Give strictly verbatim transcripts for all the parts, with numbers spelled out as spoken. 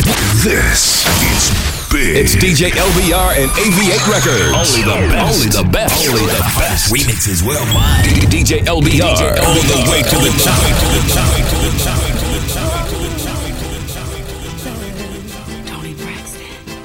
This is big. It's D J L B R and A V eight Records. Only the best. Only the best. Only the best. Remixes worldwide. D J L B R. All the way to the top. To the top. To the top. To the top. Tony Braxton.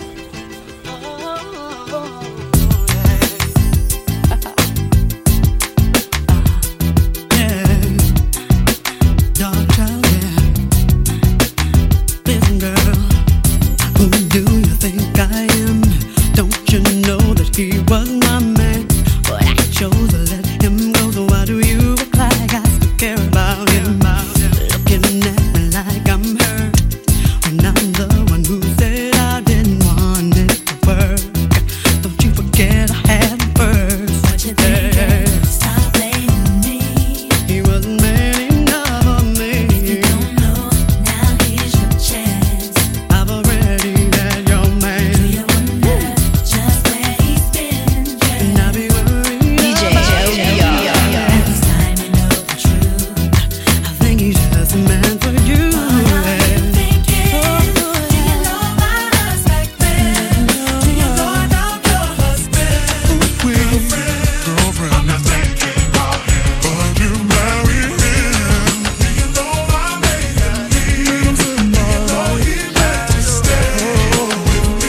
He was my man, but I chose to let him go. So why do you act like I still care about him? Looking at me like I'm hurt when I'm the one who said I didn't want it to work. Don't you forget I had him first. What you thinking? Stop blaming me. He wasn't man enough for me. If you don't know, now here's your chance. I've already had your man. Do you wonder just where he's been? And I'll be worried D J about L B R. This time you know the truth. I think he's just a man for you. What are you thinking? Do you know about us back then? Do you know about your husband? Girlfriend, I'm not thinking about him, but you marry him. Do you know my baby? You know he let you stay with me.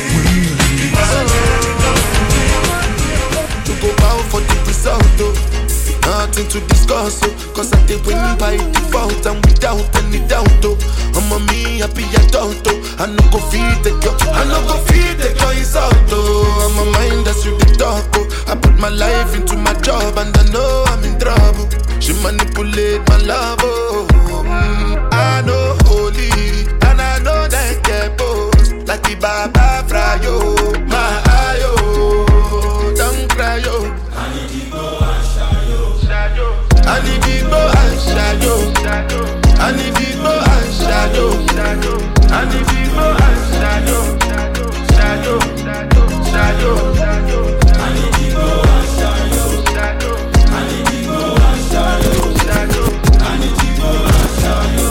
To go out for the result, oh. Nothing to discuss, oh. Cause I did win by default and without any doubt, oh. I'm a me happy adult, oh. I no go feed the girl, I no go feed the girl insult, oh. I'm a mind that's you the talk, oh. I put my life into my job and I know I'm in trouble. She manipulate my love, oh. Mm, I know holy and I know that get both. Like the Baba Frayo, my ayo, don't cry, yo. I need people and shadow. I need people and shadow. I need people and shadow. Shadow, shadow, shadow. I need people and shadow. I need people and shadow. I need people and shadow.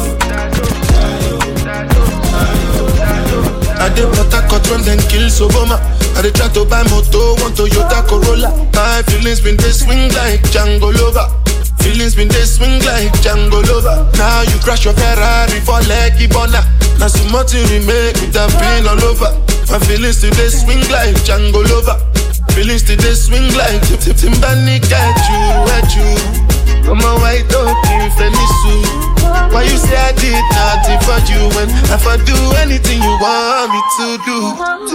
I dey Port-Harcourt run then kill Soboma. I dey try to buy moto, one Toyota Corolla. My feelings been they swing like Django Lover. Feelings been they swing like Django Lover. Now you crash your Ferrari for leggy bona. Now some more to remake with that pain all over. My feelings today swing like Django Lover. Feelings today swing like Tip Tip Timbani got you, at you. I'm a white dog in Fenisu. Why you say I did nothing for you when if I do anything you want me to do?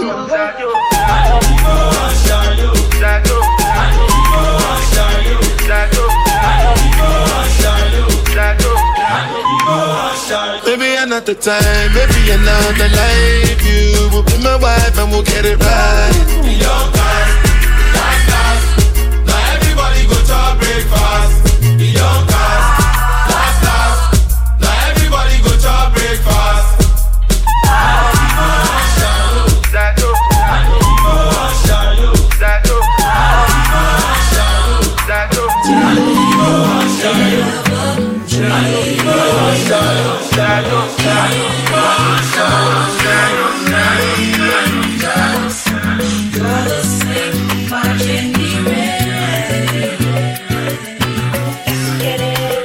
Maybe another time, maybe another life. You will be my wife and we'll get it right. Young cast, last last. Now everybody go to breakfast. The young cast, last last. Now everybody go to breakfast. Get it.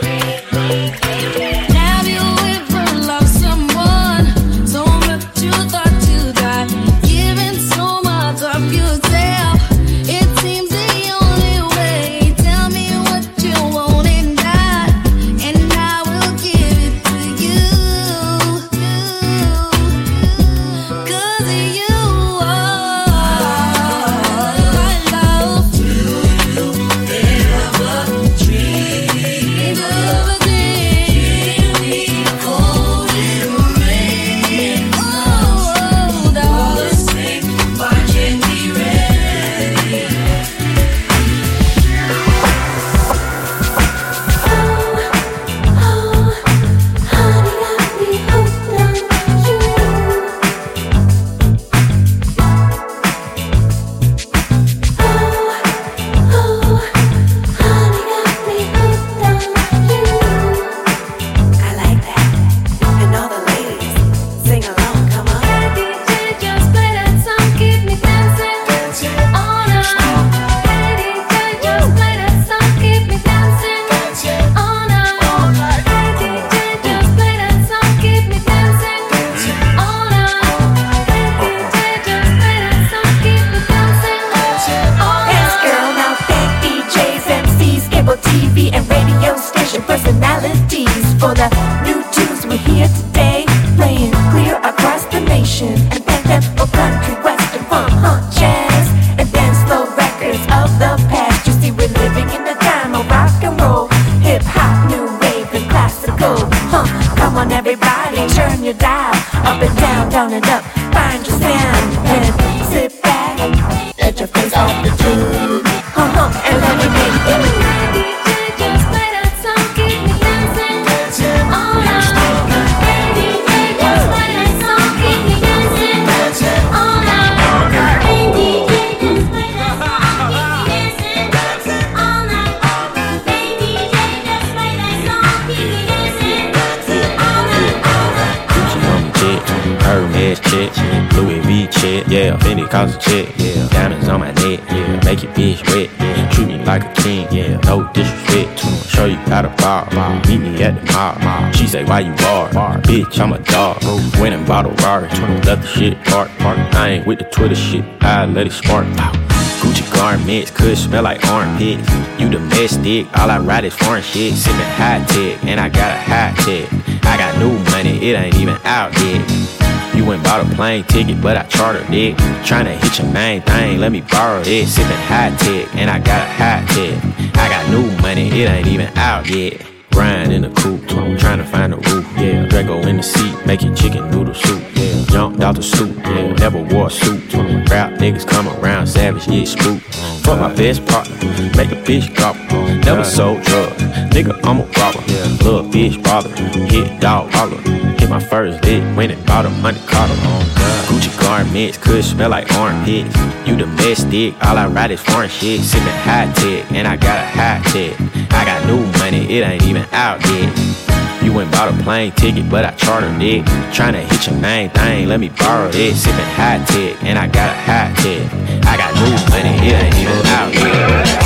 turn it up, find your sound, and sit back, let your face off the tube, uh-huh, and let me make you. Just play that song, keep me dancing all night. D J, just play that song, keep me dancing all night. Hey D J, just play that song, keep me dancing all night. Hey D J, just play that song, keep me dancing all night, all night. Gucci on me chick, Hermes chick, Louis V chick, yeah, Fendi cost a chick, yeah, diamonds on my neck, yeah, make your bitch wet, yeah, treat me like a king, yeah, no disrespect, show you how to bar, meet me at the mall, she say why you bar, bitch I'm a dog, went and bought a Rari, left the shit park, I ain't with the Twitter shit, I let it spark, Gucci garments could smell like armpits. You domestic, all I ride is foreign shit. Sippin' high tech, and I got a high tech. I got new money, it ain't even out yet. You went bought a plane ticket, but I chartered it. Tryna hit your main thing, let me borrow it. Sippin' high tech, and I got a high tech. I got new money, it ain't even out yet. Grind in the coupe, tryna find a roof, yeah. Draco in the seat, making chicken noodle soup, yeah. Jumped out the stoop, yeah. Never wore a suit. Rap niggas come around, savage, yeah, spook. Fuck my best partner, make a bitch drop. Never sold drugs, nigga, I'm a robber. Little bitch bother, hit dog holler. Hit my first lick, went and bought a money collar. Gucci garments could smell like armpits. You domestic, all I ride is foreign shit. Sippin' high tech, and I got a high tech. I got new money, it ain't even out yet. You went bought a plane ticket, but I chartered it. Tryna hit your main thing, let me borrow it. Sippin' high tech, and I got a high tech. I got new money, it ain't even out yet.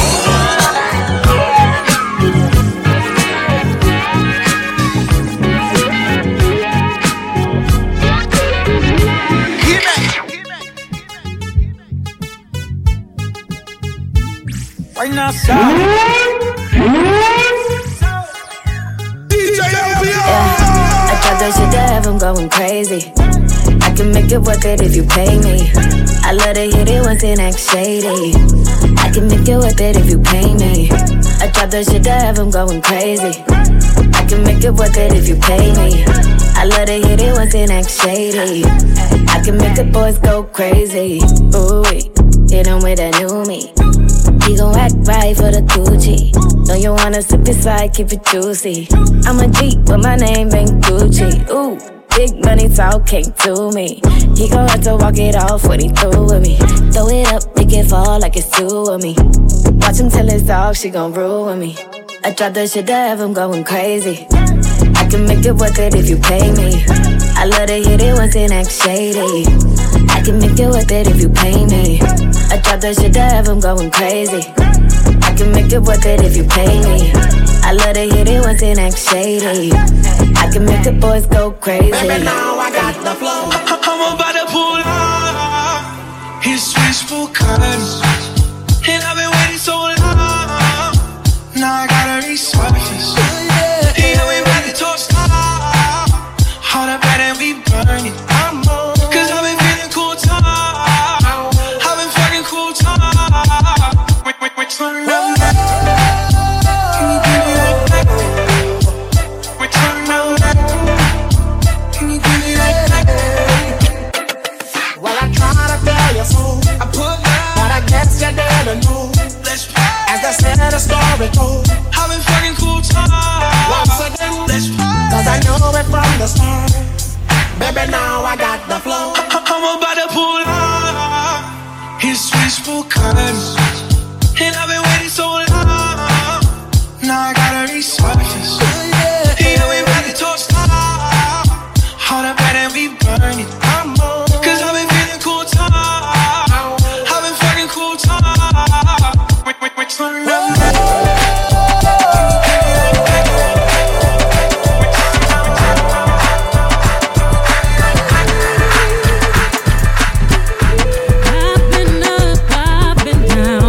Right now, stop. D J L B O. I tried that shit to have him going crazy. I can make it worth it if you pay me. I love to hit it once and act shady. I can make it worth it if you pay me. I tried that shit to have him going crazy. I can make it worth it if you pay me. I love to hit it once and act shady. I can make the boys go crazy. Ooh, hit him with that new me. He gon' act right for the Gucci. Know you wanna sip inside, keep it juicy. I'm a G, but my name ain't Gucci. Ooh, big money talk came to me. He gon' have to walk it off when he through with me. Throw it up, make it fall like it's two of me. Watch him tell his dog she gon' ruin me. I drop that shit to have him going crazy. I can make it worth it if you pay me. I love to hit it once and act shady. I can make it worth it if you pay me. I drop that shit to have him going crazy. I can make it worth it if you pay me. I love to hit it once and act shady. I can make the boys go crazy. Baby, now I got the flow. I'm about to pull up. His wishful cuts. And I've been waiting so long. Now I gotta resurface. You know we about to toast up. All the bad and we burn it. Cause I've been feeling cool time. I've been fucking cool time. Wait, wait, wait, turn around. Can you give me that back? Wait, turn around. Can you give me that back? Well, I try to tell you so. I put down, but I guess you didn't know. Let's play. As I said, the story goes. I've been fucking cool time. Once again, Let's play. cause I knew it from the start. Baby, now I got the flow. I'm about to pull up. His wishful cuts. And I've been waiting so long. Now I gotta resurface. You know we about to toast up. All the bad and we burn it. Cause I've been feeling cool time. I've been fucking cool time. Wait, wait, wait, turn around. I've been up, I've been down.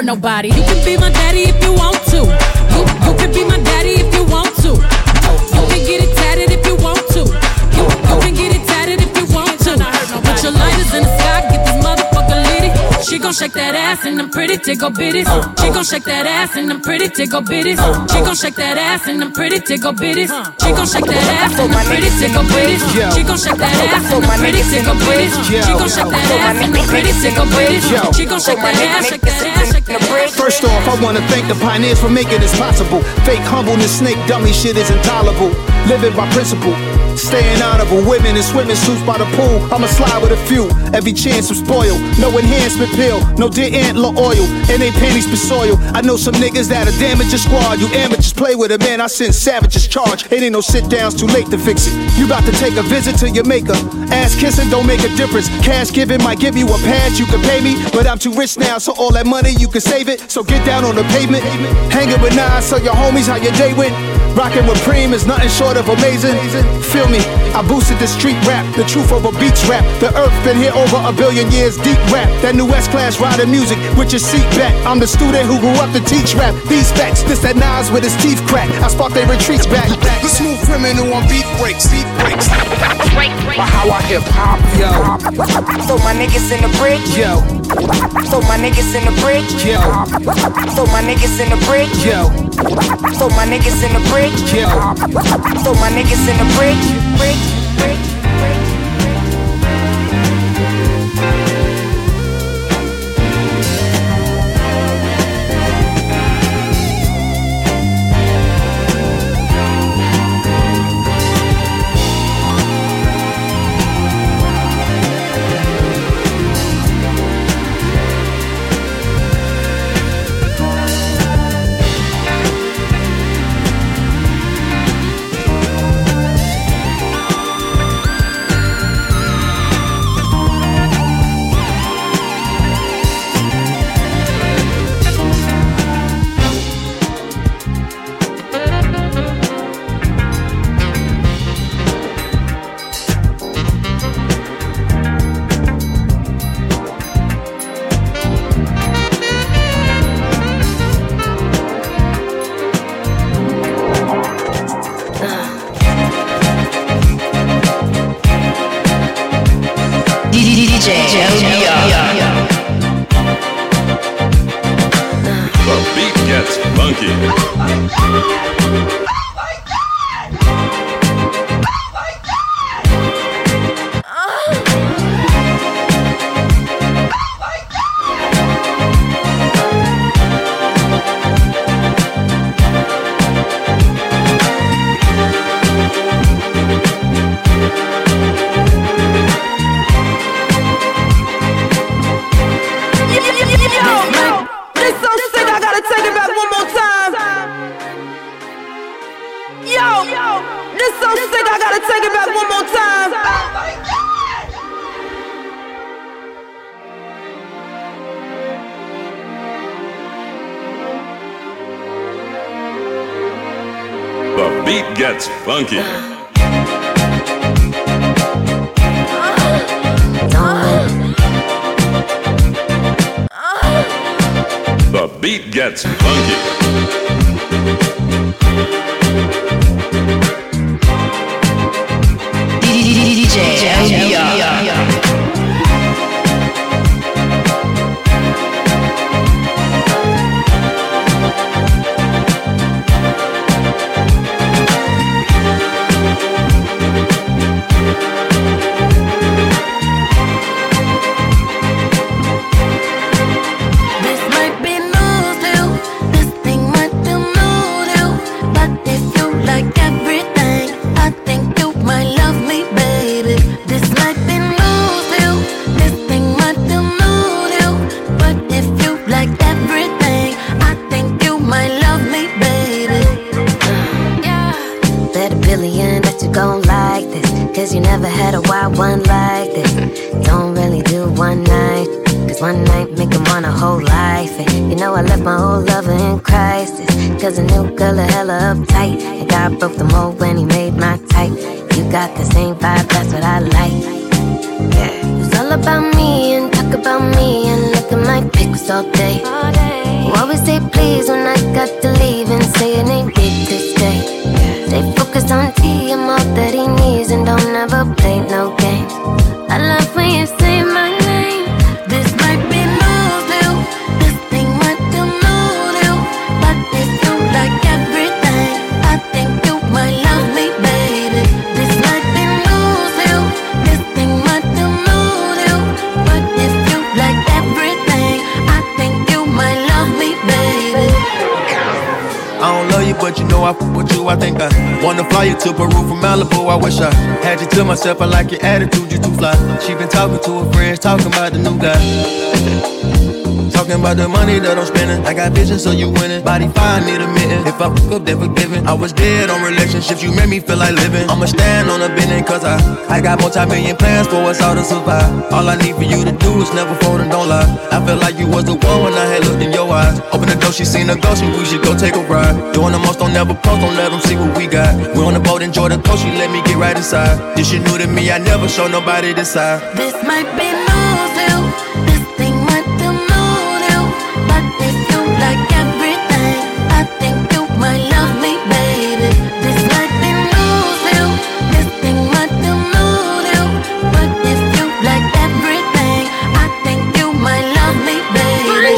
nobody. You can be my daddy if you want to. You, you can be my daddy if you want to. You can get it tatted if you want to. You, you can get it tatted if you want to. Put your lighters in the sky, get this motherfucker litty. She gon' shake that ass and them pretty tickle bitties. She gon' shake that ass and them pretty tickle bitties. She gon' shake that ass and them pretty tickle bitties. She gon' shake that ass and them pretty tickle bitties. She gon' shake that ass and them pretty tickle bitties. She gon' shake that ass and them pretty tickle bitties. She gon' shake that ass, shake that ass, shake that ass. First off, I wanna thank the pioneers for making this possible. Fake humbleness, snake dummy shit is intolerable. Living by principle, staying honorable. Women in swimming suits by the pool. I'ma slide with a few. Every chance I'm spoiled. No enhancement pill, no deer antler oil. And they panties for soil. I know some niggas that'll damage your squad. You amateurs play with it, man. I send savages charge. It ain't no sit downs, too late to fix it. You about to take a visit to your maker. Ass kissing don't make a difference. Cash giving might give you a pass. You can pay me, but I'm too rich now, so all that money you can save it. So get down on the pavement. Hanging with nine, so your homies how your day went. Rockin' with Preem is nothing short of amazing. Feel me, I boosted the street rap, the truth of a beach rap. The earth been here over a billion years, deep rap. That new S-Class riding music with your seat back. I'm the student who grew up to teach rap. These facts, this that Nas with his teeth crack. I spark they retreats back. The smooth criminal on beat breaks, beat breaks. But how I hip hop, yo. So my niggas in the bridge, yo. So my niggas in the bridge, yo. So my niggas in the bridge, yo. So my niggas in the bridge, yo. So my niggas in the bridge, bridge, bridge. Funky. The beat gets funky. D J L B R. Broke the mold when he made my type. You got the same vibe, that's what I like. Yeah. It's all about me and talk about me and look at my pics all day. always say please when I got to leave and say it ain't big to stay. Stay focused on T and all that he needs and don't ever play no games. I love when you say my name. This might be new, new. This thing might do new, new. But this you like everything. I think you might love me, baby. This might be new, new. This thing might do new, new. But if you like everything, I think you might love me, baby. I don't love you, but you know I fuck with you. I think I wanna fly you to Peru from Malibu. I wish I had you to myself. I like your attitude, you too fly. She been talking to her friends, talking about the new guy. Talking about the money that I'm spending. I got vision, so you winning. Body fine, need a mitten. If I fuck up, then forgiven. I was dead on relationships, you made me feel like living. I'ma stand on a bending, cause I I got multi-million plans for us all to survive. All I need for you to do is never fold and don't lie. I felt like you was the one when I had looked in your eyes. Open the door, she seen a ghost, and we should go take a ride. Doing the most, don't never post, don't let them see what we got. We're on the boat, enjoy the coast, she let me get right inside. This shit new to me, I never show nobody this side. This might be new, new. This thing might do new, new. But if you like everything, I think you might love me, baby. This might be new, new. This thing might do new, new. But if you like everything, I think you might love me, baby.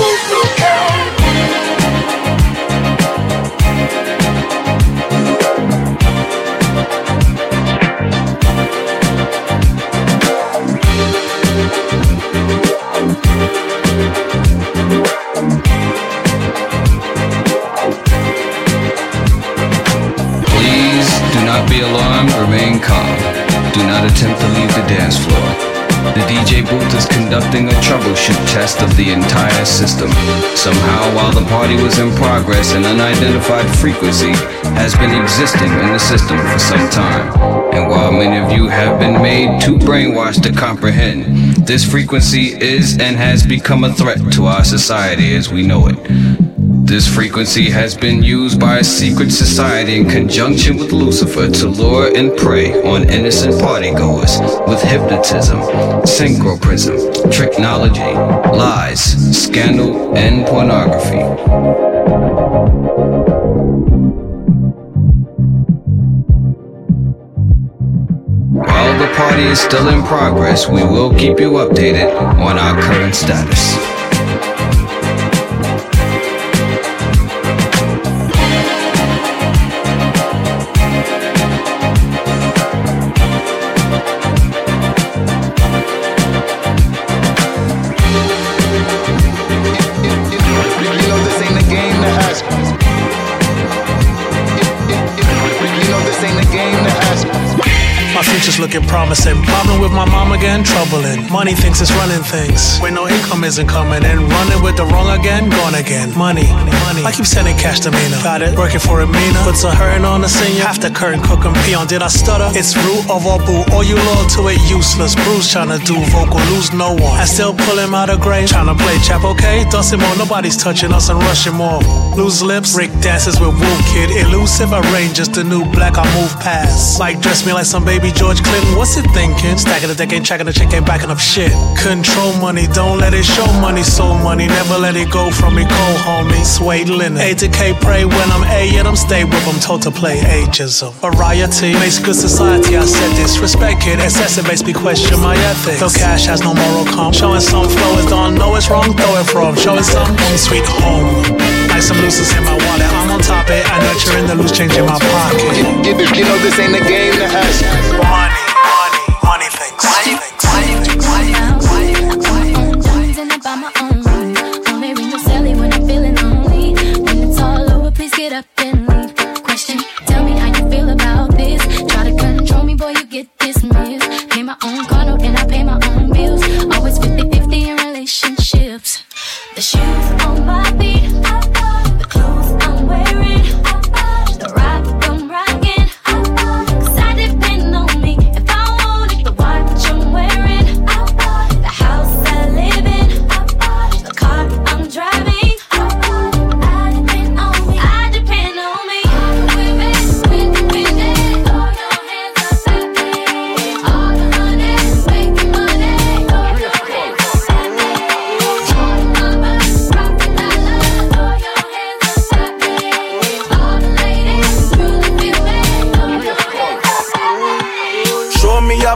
Do not be alarmed, remain calm. Do not attempt to leave the dance floor. The D J booth is conducting a troubleshoot test of the entire system. Somehow, while the party was in progress, an unidentified frequency has been existing in the system for some time. And while many of you have been made too brainwashed to comprehend, this frequency is and has become a threat to our society as we know it. This frequency has been used by a secret society in conjunction with Lucifer to lure and prey on innocent partygoers with hypnotism, synchroprism, tricknology, lies, scandal, and pornography. While the party is still in progress, we will keep you updated on our current status. My future's looking promising. Problem with my mom again, troubling. Money thinks it's running things when no income isn't coming in. Running with the wrong again, gone again. Money, money. I keep sending cash to Mina. Got it, working for a Mina. Puts a hurting on the senior. Half the curtain cook and peon. Did I stutter? It's root of all boo. All you loyal to it, useless. Bruce tryna do vocal, lose no one. I still pull him out of grave. Tryna play chap, okay? Dust him on, nobody's touching us and rush him off. Lose lips, Rick dances with Woo Kid. Elusive, arrange just the new black I move past. Like dress me like some baby George Clinton, what's it thinking? Stacking the deck, ain't tracking the chick, ain't backing up shit. Control money, don't let it show money, soul money. Never let it go from me, cold homie. Suede linen, A to K, pray when I'm A, yet I'm stay with them, told to play ageism. Variety makes good society, I said this. Respect it, exacerbates me, question my ethics. Though cash has no moral calm, showing some flow is don't know it's wrong, throw it from. Showing some home sweet home. Like some looses in my wallet, I'm on top it. I nurture in the loose change in my pocket. You, you, you know this ain't a game to us. Money, money, money things. Money things. Money things. Money I'm done about my own. Only ring your celly when I'm feeling lonely. When it's all over, please get up and leave. Question, tell me how you feel about this. Try to control me, boy, you get dismissed. Pay my own car note and I pay my own bills. Always fifty-fifty in relationships. The shoes on my feet, the clothes I'm wearing, the rock I'm rocking. 'Cause I depend on me if I want it. The watch I'm wearing, the house I live in, the car I'm driving. I depend on me. I depend on me. Women, independent. Throw your hands up at me. All the money, making money. Throw your hands up at me. All the numbers, rockin' dollars.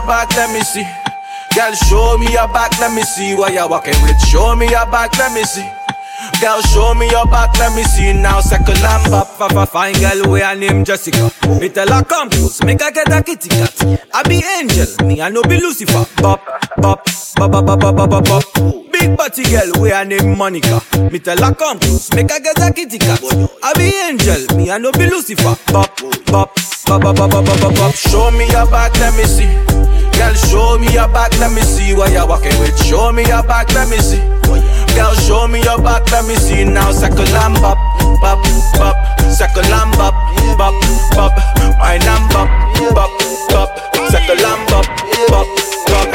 back, let me see. Girl, show me your back, let me see what you're walking with. Show me your back, let me see. Girl, show me your back, let me see now. Second lamb up, fa fine girl, we her name Jessica. Me tell her come close, make her get a kitty cat. I be angel, me I no be Lucifer. Bop, bop, bop, bop, bop, bop, bop, bop. Big body girl, we her name Monica. Me tell her come close, make her get a kitty cat. I be angel, me I no be Lucifer. Bop, bop, bop, bop, bop, bop, bop, bop. Show me your back, let me see. Girl, show me your back, let me see what you're walking with. Show me your back, let me see. Girl, show me your back, let me see now. Second lamb up, bop, bop. Second lamb up, bop, bop. My lamb up, bop, bop. Second lamb up, bop, bop.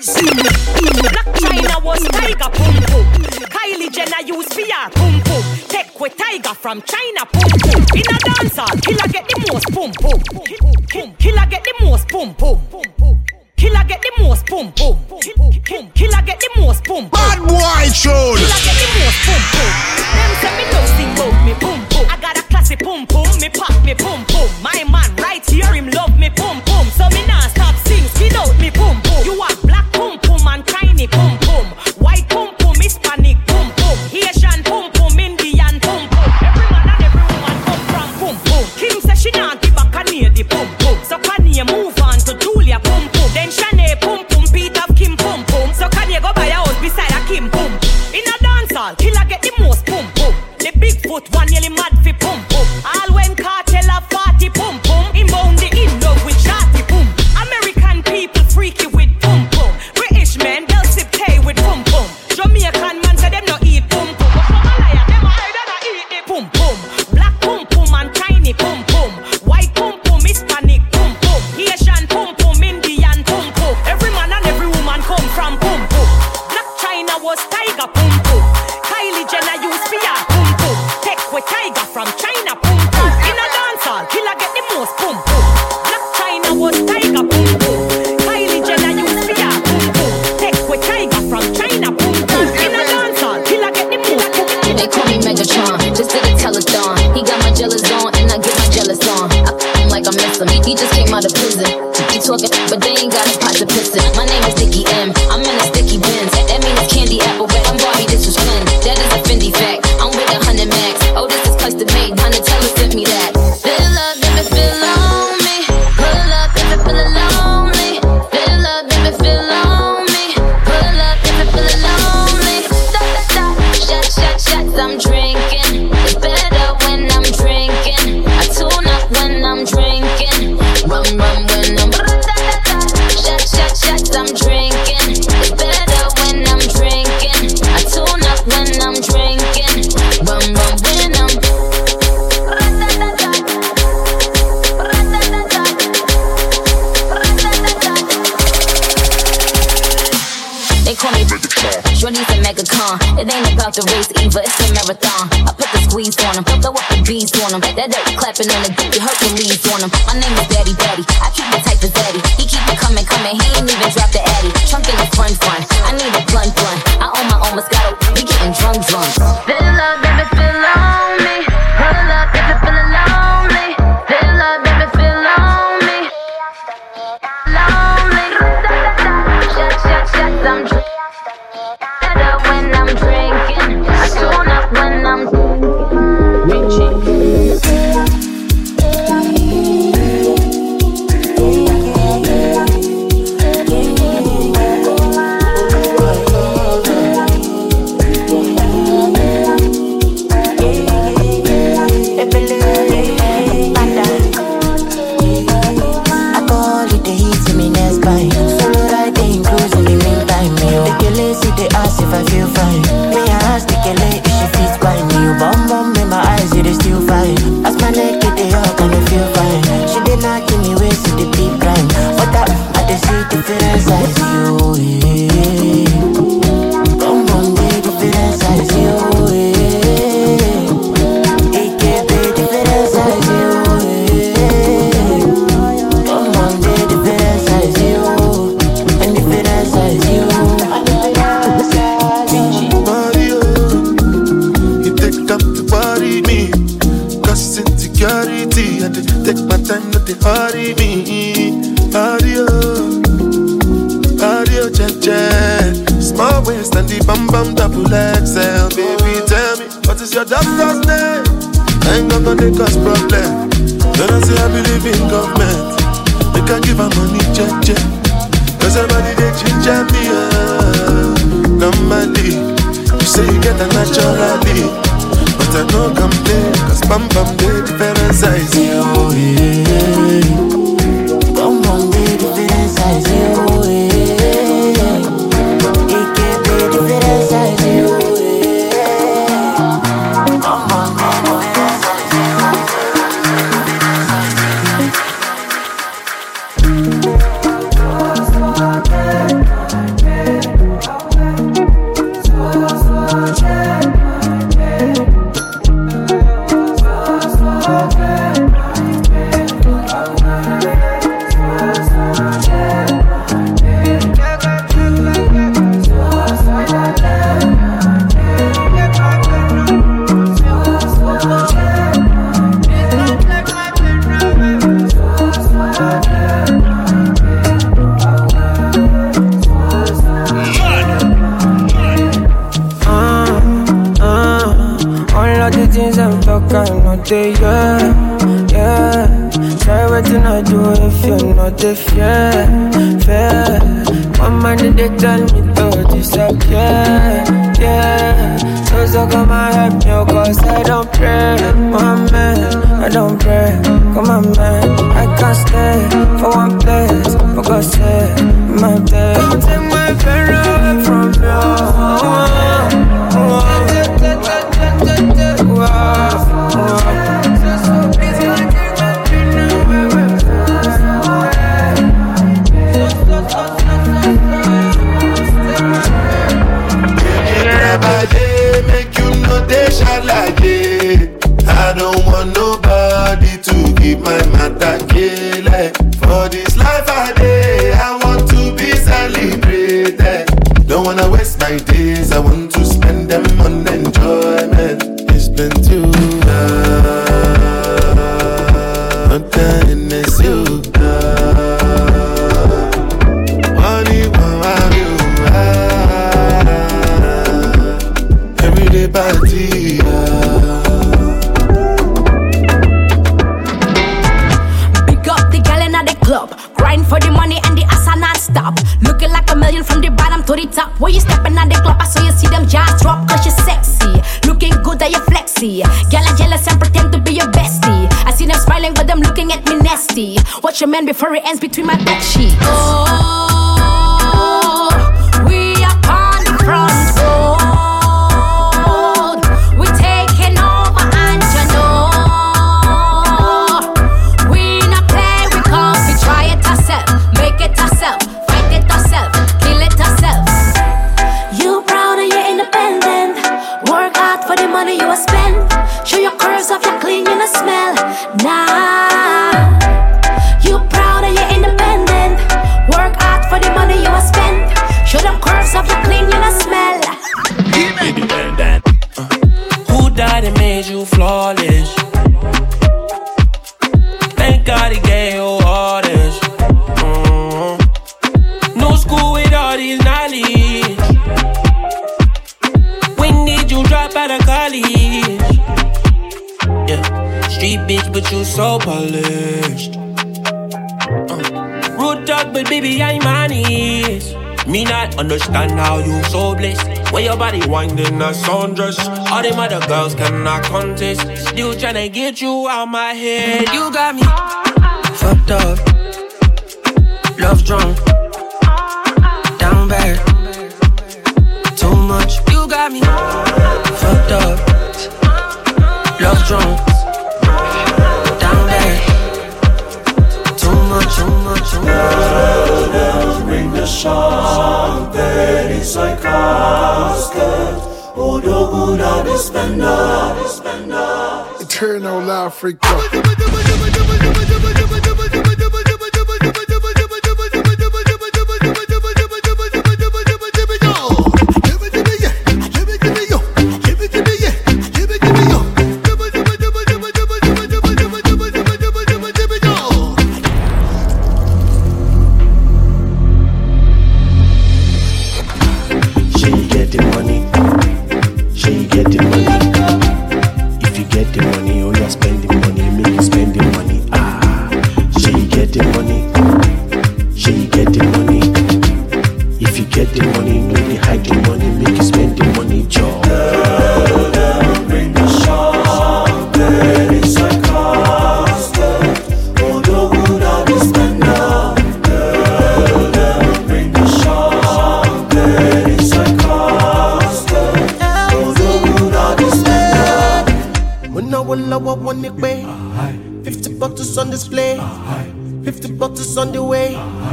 Black China was Tiger Pum Pum. Kylie Jenner used V R Pum Pum. Take with Tiger from China Pum Pum. In a dancehall, killer get the most Pum Pum. Killer get the most Pum Pum. Killer get the most pum pum. Killer get the most pum. Bad boy tune. Killer get the most pum pum. Them say me don't sing about me pum pum. I got a classy pum pum. Me pop me pum pum. My man right here him love me pum pum. So me nah stop sing spit out me pum pum. You want black pum pum and tiny pum pum. White pum pum, Hispanic pum pum. Asian pum pum, Indian pum pum. Every man and every woman come from pum pum. Kim say she nah give back a near the pum pum. So Kanye move on to Julia pum pum. Then Shanae pum pum, Pete of Kim pum pum. So Kanye go buy a house beside a Kim pum. In a dancehall, killer get the most pum pum. The Bigfoot one nearly mad fi pum pum. All when cartel a party pum pum. Inbound the in love with shawty pum. American people freaky with pum pum. British men they'll sip tea with pum pum. Jamaican man say them no eat pum pum. But some a liar, them a hide and a eat the pum pum. Black pum pum and tiny pum pum. White pum pum, Hispanic pum pum. Asian pum pum, Indian pum pum. Every man and every woman come from pum pum. Black China was Tiger pum pum. Kylie Jenner used V R pum pum. Take with Tiger from China pum pum. In a dancehall, killer get the most pum pum. Black China was Tiger pum pum. Kylie Jenner used V R pum pum. Take with Tiger from China pum pum. In a dancehall, killer get the most pum pum. They call me Megatron, just did a telethon. He got my jealous on, and I get my jealous on. I f him like I miss him. He just came out of prison. He talking, but they ain't got a pot to piss in. My name is Dickie M. I'm in a sticky bins. That means candy apple red. I'm Barbie, this is Flynn. That is a Fendi fact. I'm with a hundred max. Oh, this is custom made. Hunter Teller sent me that. Fill up, if it feel lonely. Pull up, if it feel lonely. Fill up, if it feel lonely. Pull up, if it feel lonely. Stop, stop, shot, shot, shots. I'm drinking. It's better when I'm drinking. I tune up when I'm drinking. Rum, rum when I'm shot, shot, shots. I'm drinking. It's better when I'm drinking. I tune up when I'm drinking. Rum, rum when I'm. They call me Shorty's a megacon. It ain't about the race either, it's a marathon. I put the squeeze on him, throw up the bees on him. That dirt clapping on the dick, Hercules on him. My name is Daddy Daddy, I keep it tight as Daddy. He keep it coming, coming, he ain't even drop the Addy. Trunk in the front front, I need a blunt blunt. I own my own Moscato, we getting drunk drunk. Fill up, if it feel lonely. Pull up, if it feel lonely. Fill up, if it feel lonely. Lonely. Shut, shut, shut, I'm drunk. When I'm drinking, I tune up when I'm if I feel fine. Me I ask the girl if she feels fine. You bum bum in my eyes, it is still fine. As my neck get the hug and I feel fine. She did not give me ways to the deep crime. But that I just see difference as you. Bum bum the difference as you. It can't be difference as you. Bum bum the difference as you. And difference as you. Insecurity, I take my time, not to hurry me. Hurry up. waist and the bam bam double X L. Baby, tell me, what is your doctor's name? I ain't gonna make us problem. When I say I believe in government, they can give her money, check, check. Cause everybody they ginger me, uh, normally. You say you get a naturally, but I no complain. Cause bam bam they different size. Oh, yeah. Bam bam they different size. Oh, yeah. It can be different size. Oh, yeah. Bam bam they different size. Yeah, yeah. Try what you not do if you're not a fair, fair. One man they tell me to disappear, yeah. So so come and help me, cause I don't pray, my man, I don't pray. Come on man, I can't stay for one place, for God's sake, my day. Don't take my pain away from you. Oh, oh. I don't want nobody to give my matter kill. For this life I day, I want to be celebrated. Don't wanna waste my days, I want to spend them on enjoyment. It's been too long, not done as you Honey, what you are everyday party. Grind for the money and the ass are non-stop. Looking like a million from the bottom to the top. When you stepping on the club, I saw you see them jaws drop. Cause you're sexy, looking good and you're flexy. Girl, I'm jealous and pretend to be your bestie. I see them smiling but them looking at me nasty. Watch your man before it ends between my bed sheets. Oh, we are on the front road. We're taking over and you know we not play, we come to try it ourselves. Make it ourselves, fight it ourselves, kill it ourselves. You proud and you're independent. Work hard for the money you will spend. Show your curves off, you're clean, you no smell. Nah. You proud and you're independent. Work hard for the money you will spend. Show them curves off, you're clean, you no smell. Independent. Uh, who died and made you flawless? Thank God he gave you all this. Mm-hmm. No school with all these knowledge. When did you drop out of college? Yeah, street bitch, but you so polished. Uh, rude talk, but baby, I'm honest. Me not understand how you so blessed. When your body winding a sundress. All them other girls cannot contest. Still tryna get you out my head. You got me fucked up, love drunk, down bad, too much. You got me fucked up, love drunk, down bad, too much, too much, too much. Bring the song, very sarcastic. Odoguna dispenda, dispenda. Eternal Africa. She lower one it way. Fifty bottles on display. Fifty bottles on the way.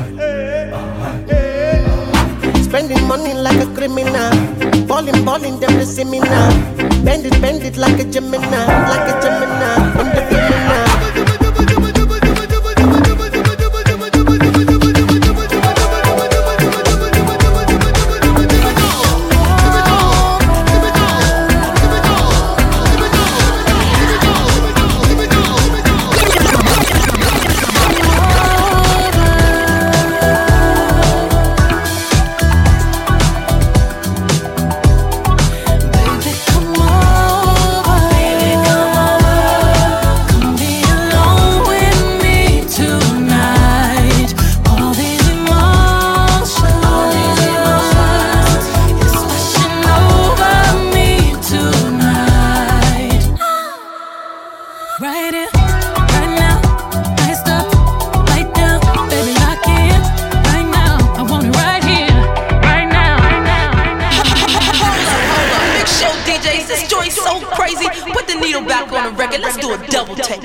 Spending money like a criminal. Balling, balling, them they see me now. Bend it, bend it like a Gemini, like a Gemini. I'm the criminal. Let's do a double take.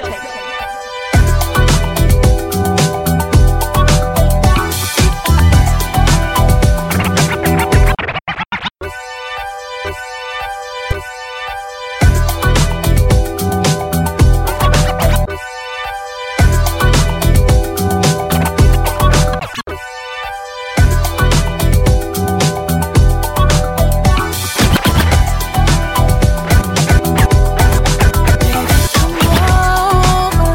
Over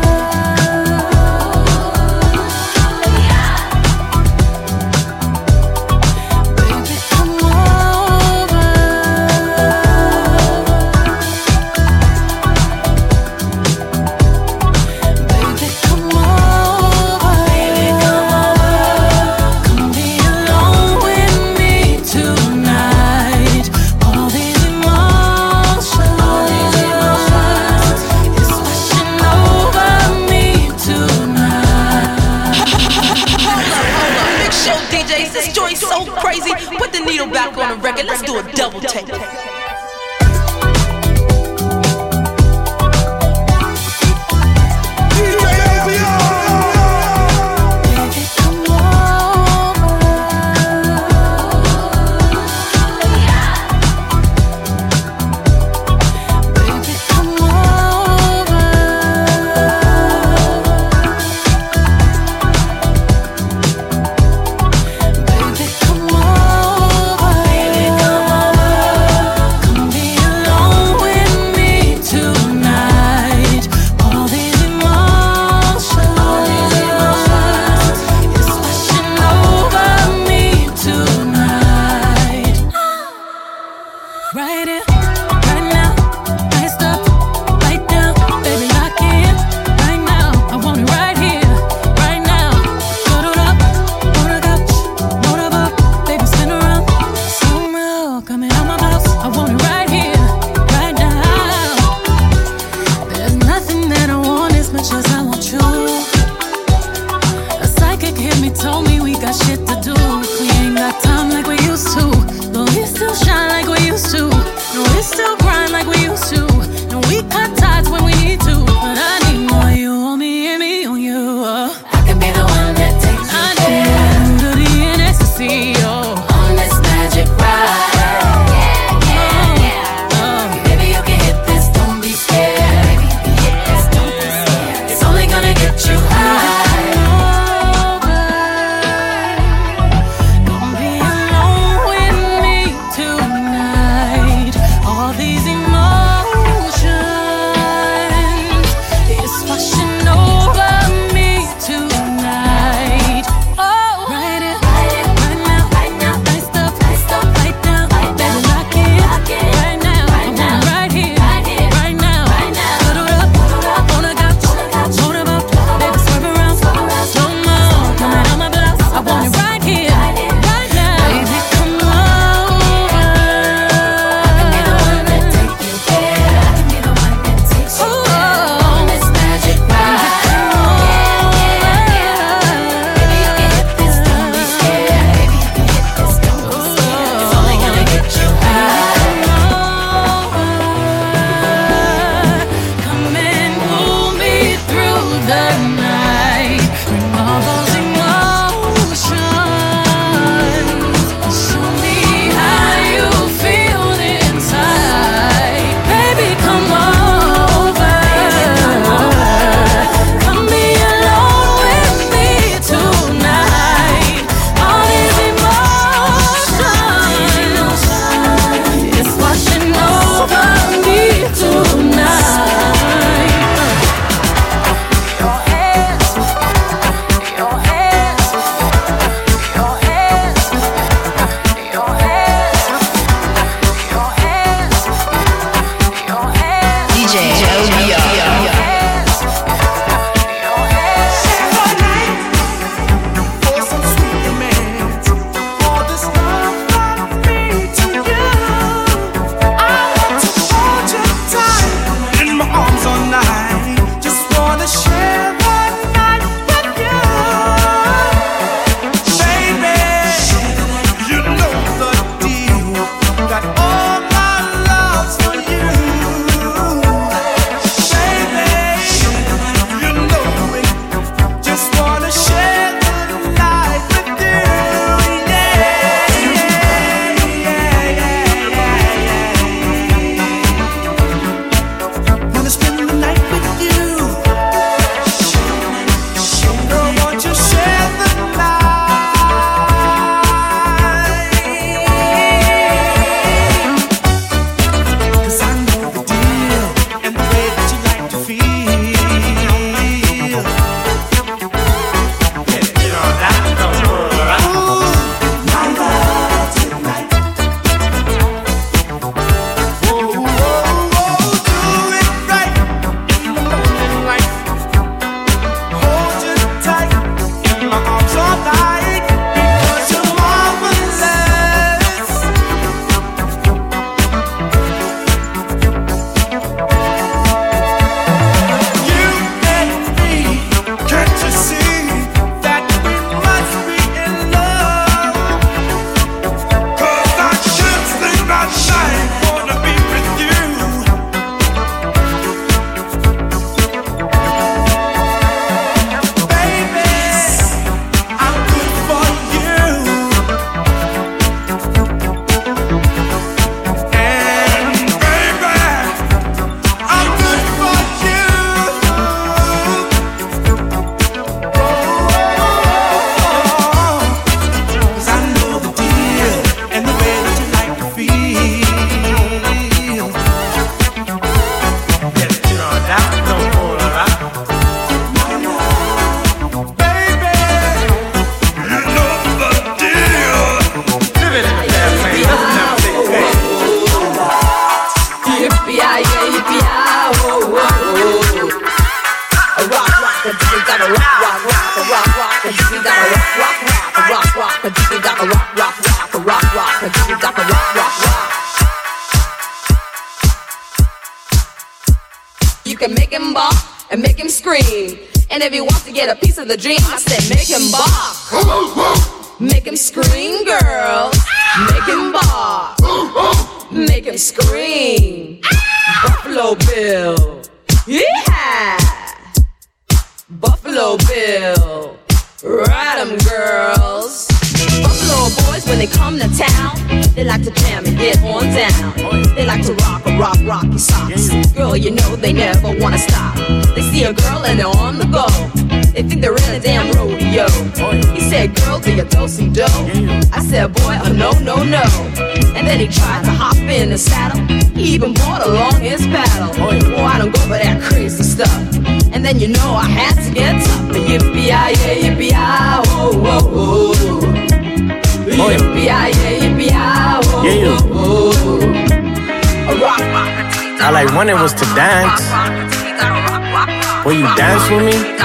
you can make him bark and make him scream. And if he wants to get a piece of the dream, I said make him bark, make him scream, girls. Make him bark, make him scream. Buffalo Bill, yeah. Buffalo Bill, ride 'em, girls. Buffalo boys, when they come to town, they like to jam and get on down. They like to rock a rock, rocky socks. Girl, you know they never wanna stop. They see a girl and they're on the go. They think they're in a damn rodeo. He said, girl, do you do some dough? I said, boy, oh no, no, no. And then he tried to hop in the saddle. He even brought along his paddle. Boy, I don't go for that crazy stuff. And then you know I had to get tough. Yippee-yi-yi, yippee-yi, oh, oh, oh. Yippee-yi-yi, yippee-yi, oh, oh, oh. A rock, rock. I like when it was to dance. Will you dance with me?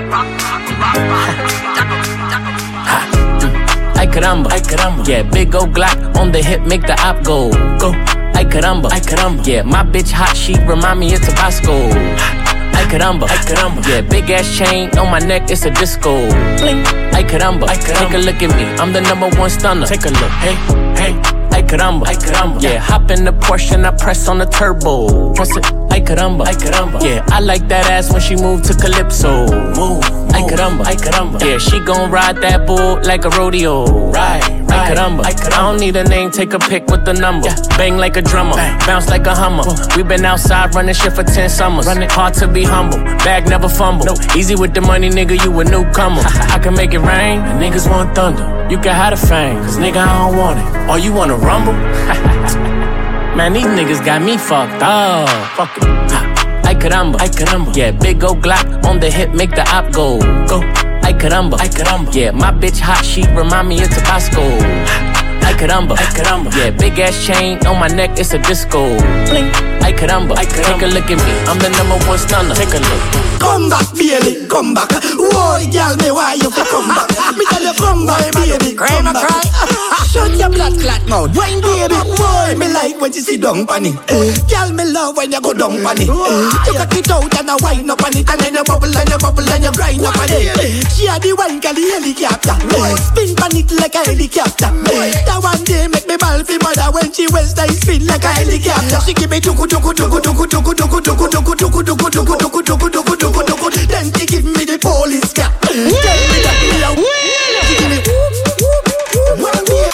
Ay caramba, ay caramba. Yeah, big ol' Glock on the hip, make the op go. Go. Ay caramba, ay caramba. Yeah, my bitch hot, she remind me of Tabasco. Ay caramba, ay caramba. Yeah, big ass chain on my neck, it's a disco. Bling. Ay caramba, ay caramba. Take a look at me, I'm the number one stunner. Take a look, hey, hey. Ay caramba, ay caramba. Yeah, hop in the Porsche and I press on the turbo. Press it, ay caramba, ay caramba. Yeah, I like that ass when she move to Calypso. Move, ay caramba, ay caramba. Yeah, she gon' ride that bull like a rodeo. Right, right. Ay caramba, ay caramba. I don't need a name, take a pic with the number. Yeah. Bang like a drummer, bang. Bounce like a Hummer. We been outside running shit for ten summers. Running hard to be humble, bag never fumble. No. Easy with the money, nigga, you a newcomer. I can make it rain, and niggas want thunder. You can have the fame, cause nigga I don't want it. Or you wanna rumble? Man, these niggas got me fucked up. Fuck it. Ay caramba, ay caramba. Yeah, big ol' Glock on the hip, make the op go. Go. Ay caramba, ay caramba. Yeah, my bitch hot, she remind me of Tabasco. Ay caramba, ay caramba. Yeah, big ass chain on my neck, it's a disco. Bling. Ay caramba, ay caramba. Take a look at me, I'm the number one stunner. Take a look. Come back, baby, come back. Whoa, girl, me why you fi come back? Me tell you come back, baby, come back. Shut your blood clot mouth, wine, baby. Boy, me like when you sit down on it. Girl, me love when you go down on it. You cut it out and I wind up on it, and then you bubble and you bubble and you grind up on it. She a the wine, girl, the helicopter. Spin on it like a helicopter. That one day make me ball fi mother when she waist I spin like a helicopter. She give me tuku tuku tuku tuku tuku tuku tuku tuku tuku tuku tuku tuku tuku tuku tuku. Then she give me the police cat. Tell me that me a she give me one day.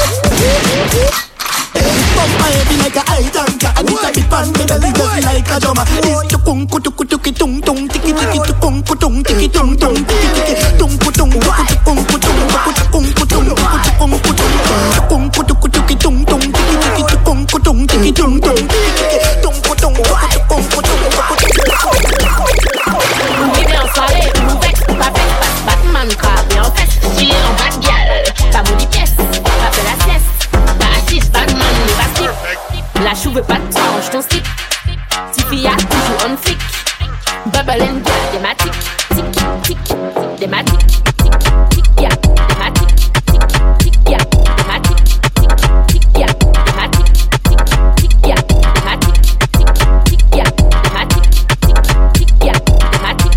Bump my head like a high tanker, and it's a bit pan me belly just like a drummer. It's tukung kutuku tuki tung tung tiki tiki tukung kutung tiki tung tung tiki tiki tung kutung tukung kutung tukung kutung tukung kutung tukung kutuku tuki tung tung tiki tiki tukung kutung tiki tung tung tiki tiki tung kutung tukung kutung. Soirée, ouverte, pas faite, pas Batman, crabe et en fesse. J'ai en bad gal, pas mon pièce, pas fait la sieste, pas assise, Batman, mais pas slip. La chou veut pas de tranche, ton slip. Tiffy a toujours on flic. Bubble and gal, thématique, tic, tic, tic, thématique, tic, tic, ya, thématique, tic, tic, ya, thématique, tic, tic, ya, thématique, tic, tic, ya, thématique, tic, tic, ya, thématique, tic, tic, ya, thématique.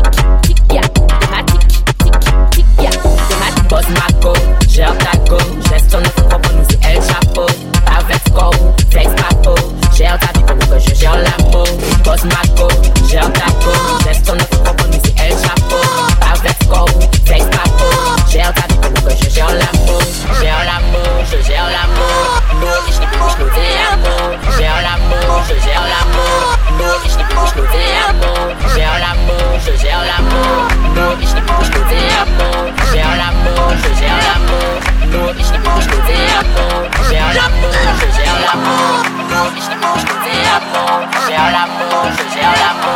Boss Marco, gère ta go, geste ton effort pour nous c'est El Chapo. Avec score, flex papo, gère ta vie pour que je gère l'amour. Boss Marco, gère ta go, geste ton effort pour nous c'est El Chapo. Avec score, flex papo, gère ta vie pour que je gère l'amour. Gère l'amour, je gère l'amour. Nous, ich nicht plus nous des amours. Gère l'amour, je gère l'amour. Nous, ich nicht plus nous des amours. Gère l'amour, je gère l'amour. Nous, ich nicht plus nous des amours. Gère l'amour, je gère l'amour. Nous, ich nicht plus nous des amours. Gère l'amour, je gère l'amour. Nous, ich nicht plus nous des amours. Gère l'amour, je gère l'amour.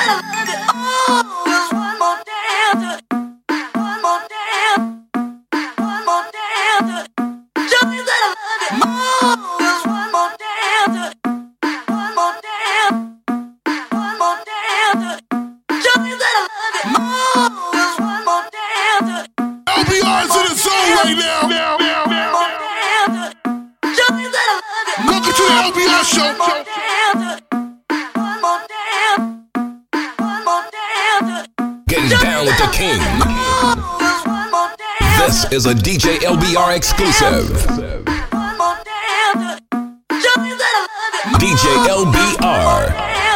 This is a D J L B R exclusive. D J L B R.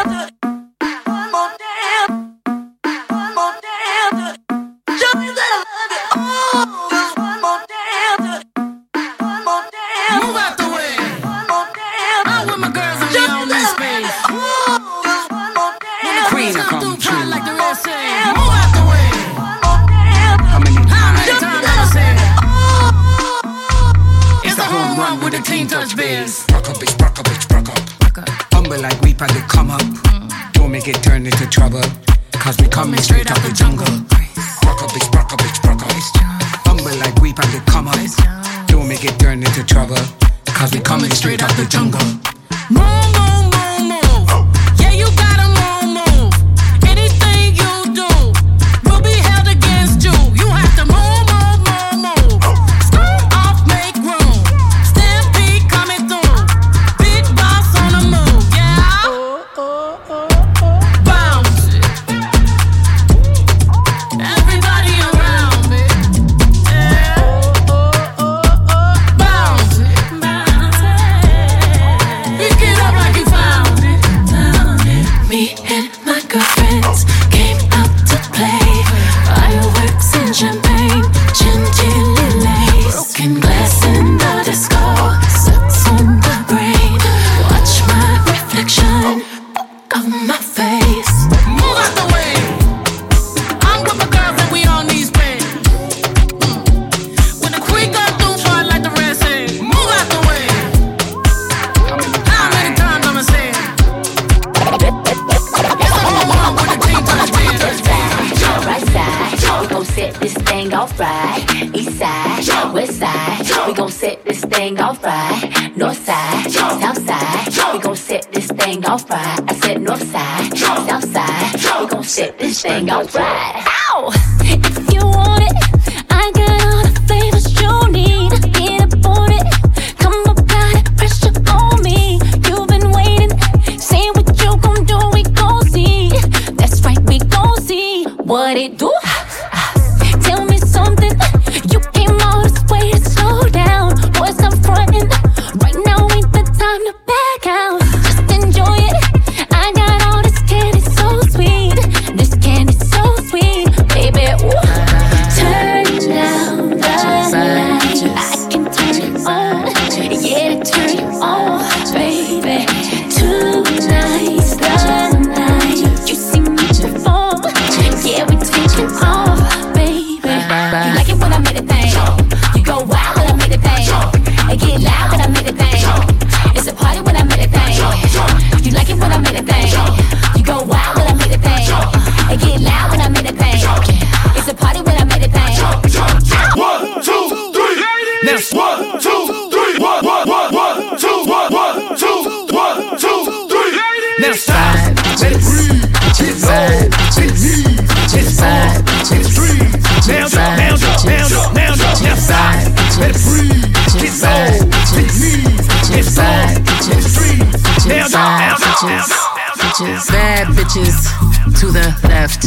Touch beers. Rock up, bitch, rock up, bitch, rock up. Humble like we had to come up. Mm. Don't make it turn into trouble. Cause we coming straight out the jungle. Rock up, bitch, rock up, bitch, rock up. Humble like we had to come up. Don't make it turn into trouble. Cause we coming straight out the jungle. Move, move, move, move. Yeah, you gotta move, move. Anything you do will be held against you. You have to move, move, move, move. Start off, make room. Stampede coming through. Big boss on the move, yeah. Bounce it. Everybody around me. Yeah. Bounce it. Pick it up like you found it. Found it. Me and my girlfriends came out to play. Fireworks and champagne, chantilly lace. Broken glass in the disco, sucks on the brain. Watch my reflection of my face. Move out the way. I'm with my girls and we on these pins. When the queen got through, fly like the rest say. Move out the way. How many times I'ma say it? It's a whole world with the team touch beers. Right side, we gon' set this thing off right. East side, west side, we gon' set this thing off right. North side, south side, we gon' set this thing off right. I said north side, south side, we gon' set this thing off right. Ow! If you want it, I got all the flavors you need. Get up on it, come apply the pressure on me. You've been waiting, say what you gon' do, we gon' see. That's right, we gon' see what it do. Tell me something, you came all this way to slow down. Boys, I'm frontin', right now ain't the time to back out. Just enjoy it, I got all this candy so sweet. This candy so sweet, baby, ooh. Turn down the light, I can turn it on. Yeah, turn it on, baby. Tonight's the night you see me perform. Yeah, we taking off, baby. You like it when I make it thing. You go wild when I make it thing. And get loud when I make it thing. It's a party when I make it thing. You like it when I make it thing. You go wild when I make it thing. And get loud when I make it thing. It's a party when I make it thing. One, two, three. Now, one, two, three. One, one, one, one, two, one, one, two, one, two, three. Now side bitches, bitches, side bitches, bitches, side bitches, now now now now now now side bitches, bitches, side bitches, bitches, side bitches, now now now bitches, bad bitches to the left,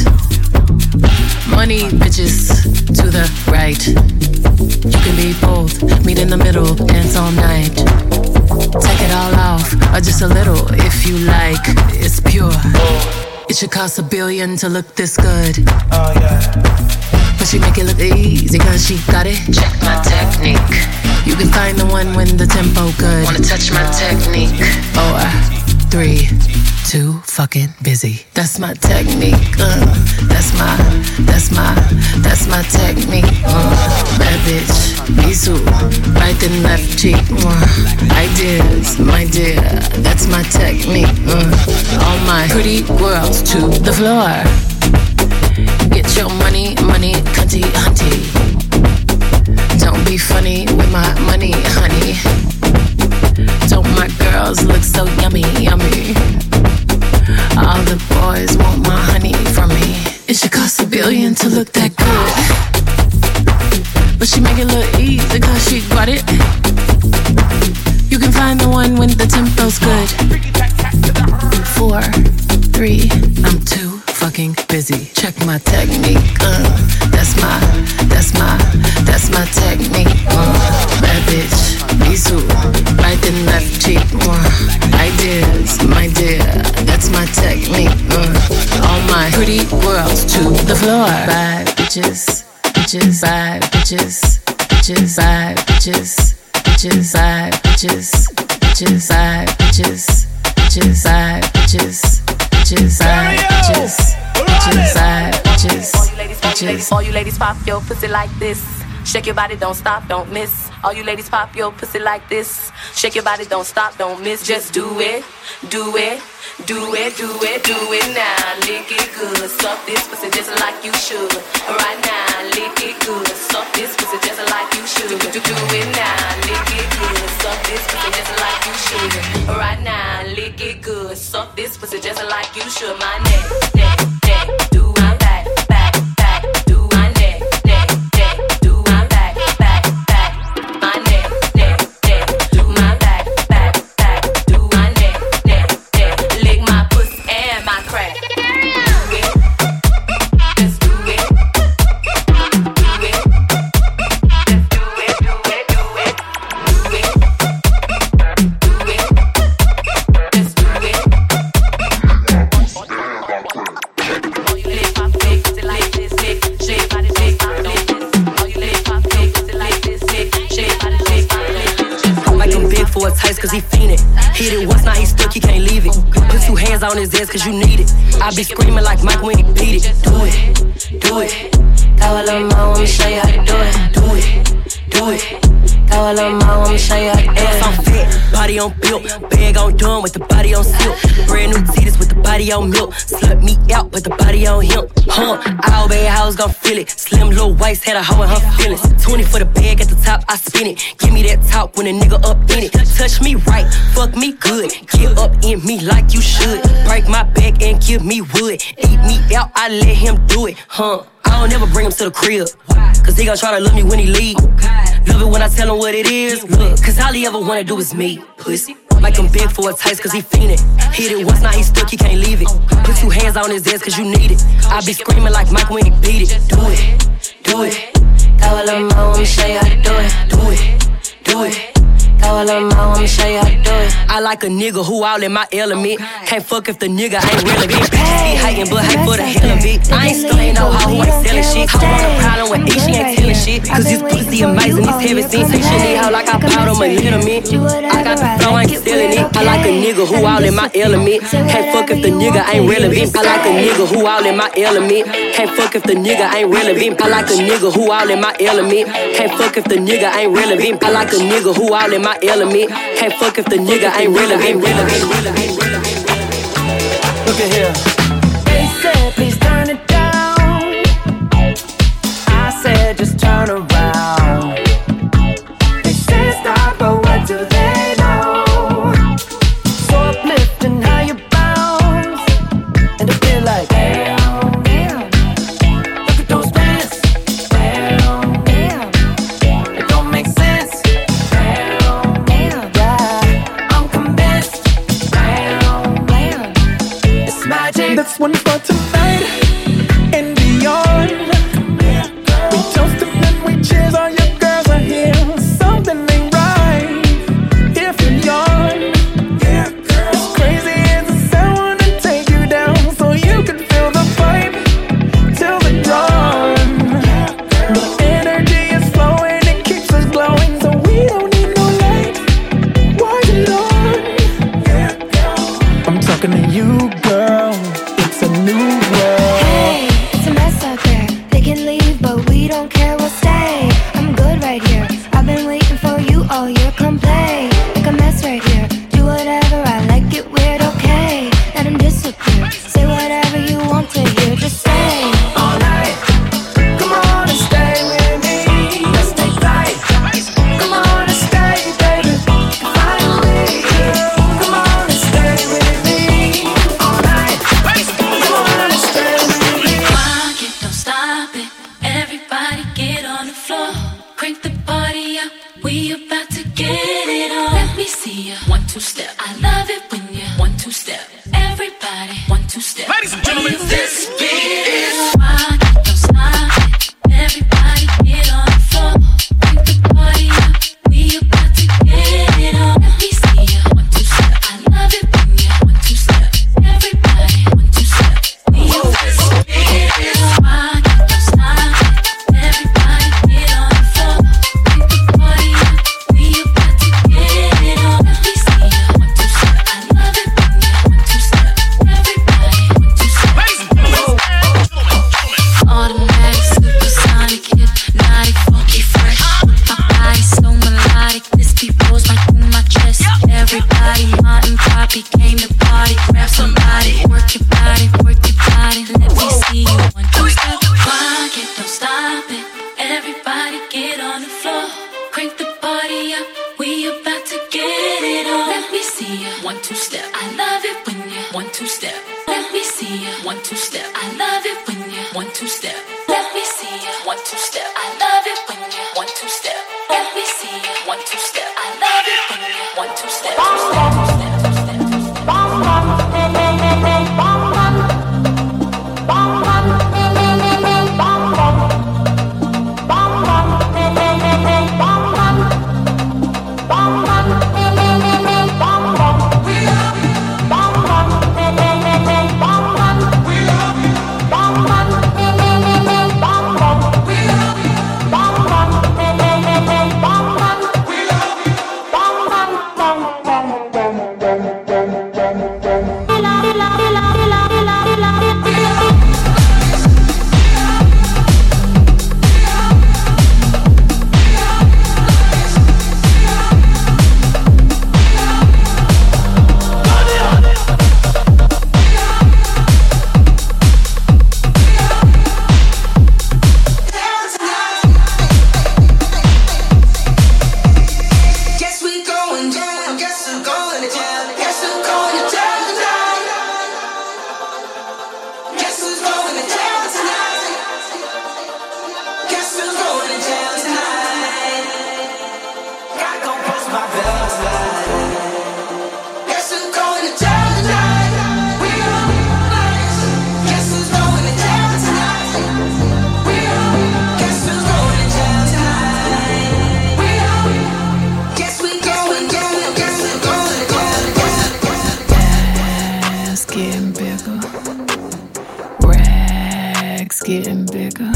money bitches to the right. You can be both, meet in the middle, dance all night. Take it all off, or just a little if you like. It's pure. It should cost a billion to look this good. Oh yeah. But she make it look easy cause she got it. Check my technique. You can find the one when the tempo good. Wanna touch my technique? Four, three, too fucking busy. That's my technique. Uh, that's my, that's my, that's my technique. Uh, bad bitch, Bisou, right and left cheek. Uh, ideas, my dear, that's my technique. Uh, all my pretty girls to the floor. Get your money, money, cunty, hunty. Don't be funny with my money, honey. Don't my girls look so yummy, yummy? All the boys want my honey from me. It should cost a billion to look that good, but she make it look easy cause she got it. You can find the one when the tempo's good. Four, three, I'm too fucking busy. Check my technique. Uh, that's my, that's my, that's my technique. Uh, bad bitch, Bisou, right and left cheek. Uh, ideas, my dear, that's my technique. Uh, all my pretty girls to the floor. Bad bitches, bitches, bad bitches, bitches, bad bitches, bitches, bad bitches, bitches, bad bitches, bitches, bad bitches, bitches, bad bitches, bitches, bad bitches, bitches. All you ladies pop your pussy like this. Shake your body, don't stop, don't miss. All you ladies pop your pussy like this. Shake your body, don't stop, don't miss. Just do it, do it, do it, do it, do it now. Lick it good, suck this pussy just like you should. Right now, lick it good, suck this pussy just like you should. Do, do, do it now, lick it good, suck this pussy just like you should. Right now, lick it good, suck this pussy just like you should. My neck, neck, neck, do my back, back, back, do my neck, neck, neck, do my back, back, back, my neck, neck, neck, do my back, back, back, do my neck, neck, neck, lick my pussy and my crack. Do it, just do it, do it, just do it, do it, do it, do it, do it, just do it. All you ladies pop big pussy like this, big shake body shake pop like this. All you ladies pop big pussy like this, big shake body shake pop like this. I'm like him big for a taste cause he fiend it. Hit it once, now he stuck, he can't leave it. Put two hands on his ass cause you need it. I be screaming like Mike when he beat it. Do it, do it. Go a little more, I'ma show you how to do it. Do it, do it. Go a little more, I'ma show you how to do it. Ass on fat, body on built. Bag on done with the body on silk. Brand new titties with the body on milk. Slut me out, but the body on him. Huh, all bad hoes gon' feel it. Slim little waist had a hoe in her feelings. twenty for the bag at the top, I spin it. Give me that talk when a nigga up in it. Touch me right, fuck me good. Get up in me like you should. Break my back and give me wood. Eat me out, I let him do it. Huh, I don't ever bring him to the crib, cause he gon' try to love me when he leave. Love it when I tell him what it is. Look, cause all he ever wanna do is me. Pussy. Like I'm big for a taste cause he fiend it. Hit it once, now he stuck, he can't leave it. Put two hands on his ass cause you need it. I be screaming like Mike when he beat it. Do it, do it. Go a little more, I'ma show you how to do it. Do it, do it. Go a little more, I'ma show you how to do it. I like a nigga who all in my element. Can't fuck if the nigga ain't relevant. Bitches be hating, but hate for the hell of it. I ain't stunning no hoe who ain't selling shit. I want a problem with E, she ain't telling shit. Cause this pussy amazing, this heavy scene. Say shit need hoe like I bought him a little mint. I got the flow, I ain't selling it. I like a nigga who all in my element. Can't fuck if the nigga ain't relevant. I like a nigga who all in my element. Can't fuck if the nigga ain't relevant. I like a nigga who all in my element. Can't fuck if the nigga ain't relevant. I like a nigga who all in my element. Can't fuck if the nigga ain't relevant. Look at here. They said please turn it down. I said just turn around. They said stop, but what do they know? So uplifting how you bounce, and I feel like damn, damn. Look at those pants, damn, damn. It don't make sense, damn, damn. Yeah, I'm convinced, damn, damn. It's magic. That's one for tonight and beyond. We toast and we cheers, all your girls are here. Something ain't right if you yawn. As crazy as it sounds, wanna take you down so you can feel the vibe till the dawn. The energy is flowing, it keeps us glowing, so we don't need no light. Why you on? I'm talking to you, gentlemen, this is. Everybody get on the floor. Break the party up. We about to get it on. Let me see ya. One, two, step. I love it when you one, two, step. Everybody, one, two, step. We about to get it on. Rock it, don't stop it. Everybody get on the floor. Break the party up. We about to get it on. Let me see ya. One, two, step. I love it when you one, two, step. Everybody, one, two, step. Automatic, supersonic, hypnotic, funky, fresh. My body so melodic, this beat rolls right through my chest. Everybody, Martin, Poppy came to party. Grab somebody, work your body, work your body. Let me see you one, two, step. Rock it, don't stop it. Everybody get on the floor. Crank the party up, we about to get it on. Let me see ya, one, two, step. I love it when you one, two, step. Let me see ya, one, two, step. I love it when you one, two, step. Let me see ya, one, two, step. I love it when you one, two, step. Let me see ya, one, two, step. I love it when you one, two, step. Getting bigger,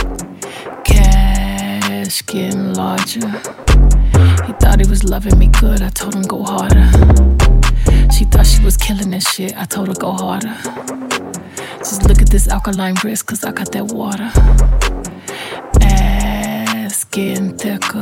cash getting larger. He thought he was loving me good, I told him go harder. She thought she was killing that shit, I told her go harder. Just look at this alkaline wrist, cause I got that water. Ass getting thicker,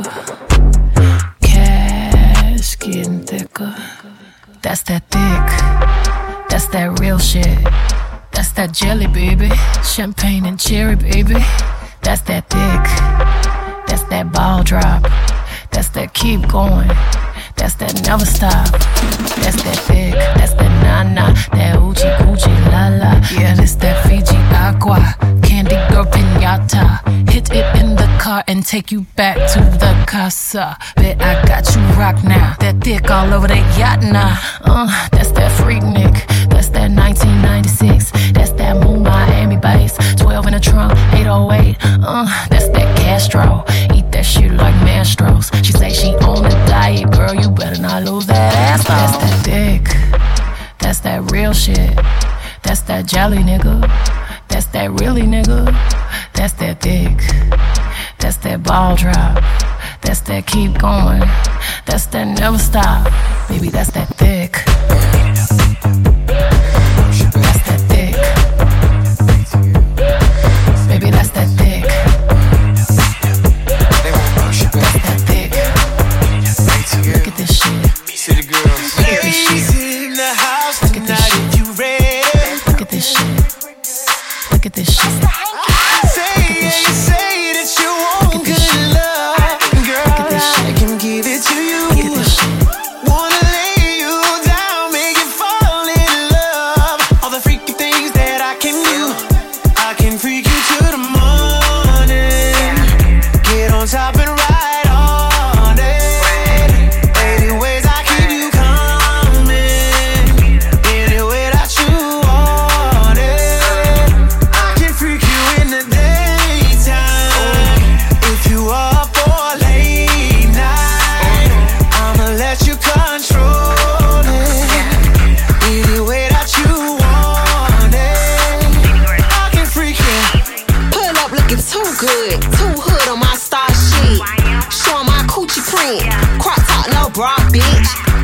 cash getting thicker. That's that thick, that's that real shit. That's that jelly, baby. Champagne and cherry, baby. That's that thick. That's that ball drop. That's that keep going. That's that never stop. That's that thick. That's that na-na. That oochie coochie la la. Yeah, this that Fiji aqua. Candy girl pinata. Hit it in the car and take you back to the casa. Bet I got you rock now. That thick all over that yacht now. Uh, that's that freak Nick. That's that nineteen ninety-six. That's that Moon Miami bass. twelve in the trunk, eight oh eight. Uh, that's that Castro. Eat that shit like Mastros. She say she on a diet, girl. You better not lose that ass. That's that dick. That's that real shit. That's that jelly, nigga. That's that really, nigga. That's that dick. That's that ball drop. That's that keep going. That's that never stop. Baby, that's that thick. That's that thick. Baby, that's that thick. That's that thick. Look at this shit. Look at this shit. Look at this shit. Look at this shit. Look at this shit. Look at this shit.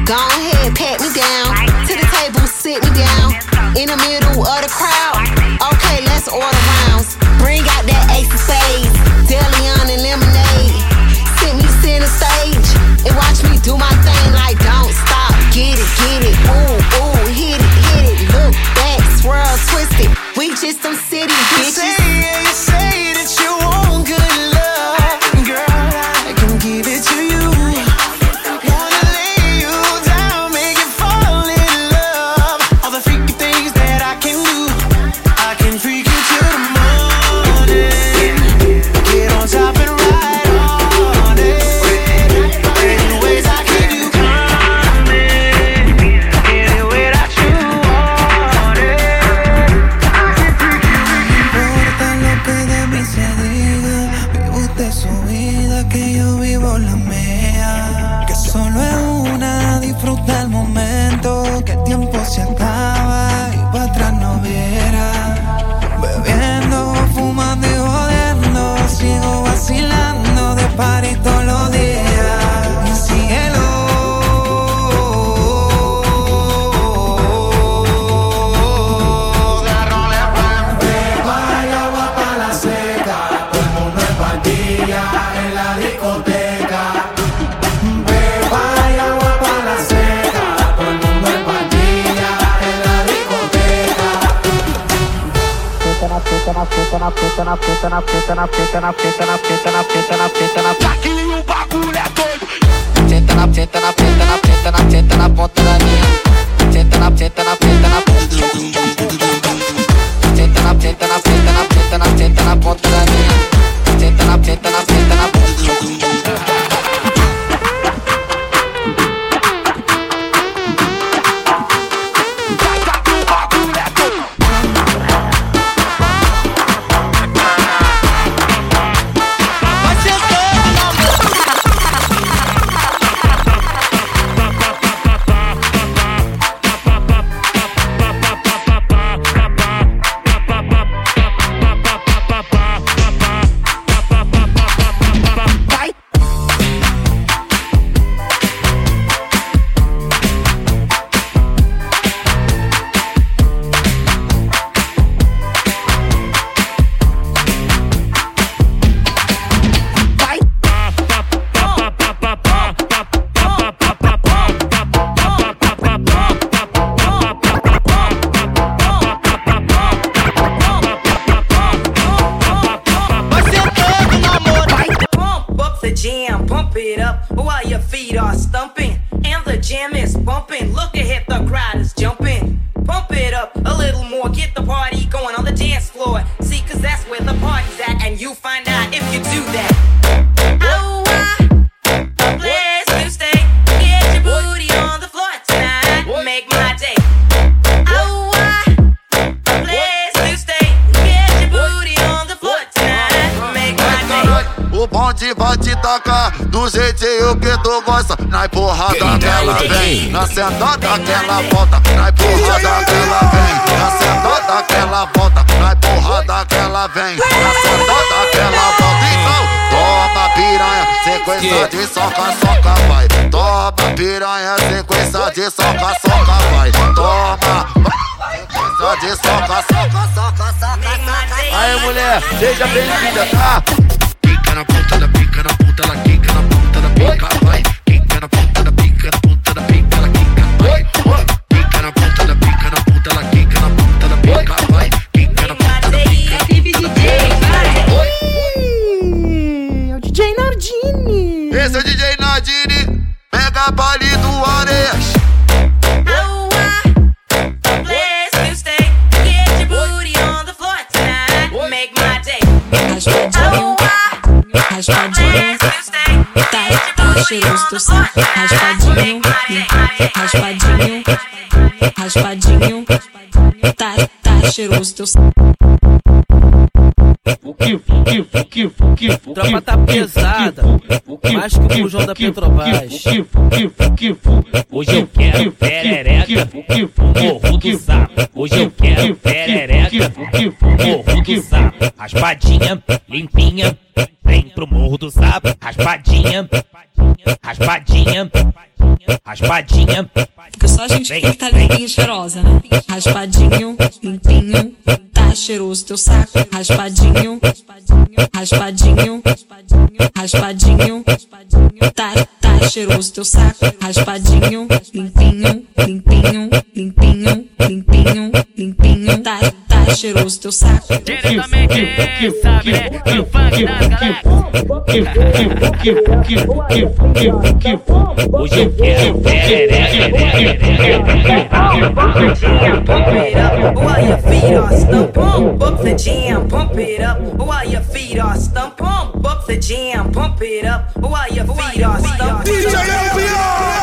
Go ahead, pat me down. To the table, sit me down. In the middle of the crowd. Okay, let's order rounds. Bring out that ace of spades, Deleon and lemonade. Sit me center stage and watch me do my thing like don't stop. Get it, get it, ooh, ooh, hit it, hit it. Look back, swirl, twist it. We just some city bitches. You say, yeah, you say that you want good love, girl, I can give it to you. Wanna lay you down, make you fall in love. All the freaky things that I can do, I can freak you till the morning. Get on top and ride on it. Any ways I keep you coming, any way that you want it. Importa lo que de mí se diga, vive usted su vida, que yo vivo la mía. Que solo es una, disfruta el momento, que el tiempo se acaba y para atrás no viera. Bebiendo, fumando y jodiendo, sigo vacilando de party todos los días. Y síguelo. Hay agua para la seca, todo el mundo en pandilla en la discoteca. Beba hay agua para la seca, todo el mundo en pandilla en la discoteca. Aqui o bagulho é doido. Senta na, senta na, senta na, senta na, senta na ponta da minha. Senta na, senta na, senta na ponta. Senta na, senta na, senta na, senta na, senta na ponta da minha. Senta na, senta na, senta na ponta. Jam, pump it up while your feet are stumping and the jam is bumping. Look ahead, the crowd is jumping. Pump it up a little more, get the party going on the dance floor. See, cause that's where the party's at, and you find out if you do that. Oh, I place to stay. Get your booty on the floor tonight. Make my day. Oh, I place to stay. Get your booty on the floor tonight. Make my day. O bonde vai te tacar do jeitinho que tu gosta. Na empurrada que ela vem, na sentada que ela volta. Na empurrada que ela vem, na sentada que ela volta. Na empurrada que ela vem, na sentada que ela volta. Então, toma piranha, sequência de soca, soca, vai. Toma piranha, sequência de soca, soca, vai. Toma, sequência de soca, soca, soca, soca. Aí mulher, seja bem-vinda, tá? Pica na ponta da pica, na ponta ela quica, na ponta da pica, vai. Quica na ponta da pica, na ponta da pica, ela quica, vai. Pica na ponta da pica, na ponta ela quica, na ponta da pica, vai. Quica na ponta da pica. Clipe D J, vai. É o D J Nardini. Esse é o D J Nardini, mega palito Areias. Raspadinho, tá, tá cheiroso do saco. Raspadinho, raspadinho, raspadinho, tá, tá cheiroso do saco. O que, o que, o que, o que, o tropa tá pesada, mais que o bujão da Petrobras. Hoje eu quero perereca, morro do sapo. Hoje eu quero perereca, morro do sapo. Raspadinha, limpinha, vem pro morro do sapo. Raspadinha, raspadinha, raspadinha. Porque só a gente tem que estar limpinha e cheirosa, né? Raspadinho, limpinho, tá cheiroso teu saco. Raspadinho, raspadinho, raspadinho, tá, tá cheiroso teu saco. Raspadinho, limpinho, limpinho, limpinho, limpinho, limpinho, tá, tá cheiroso teu saco. Diretamente, sabe, né? No funk da galera. Hoje eu quero Pump it up while your feet are stumped. Pump up the jam, pump it up while your feet are stumped. Pump up the jam, pump it up while your feet are stumped. D J L B R!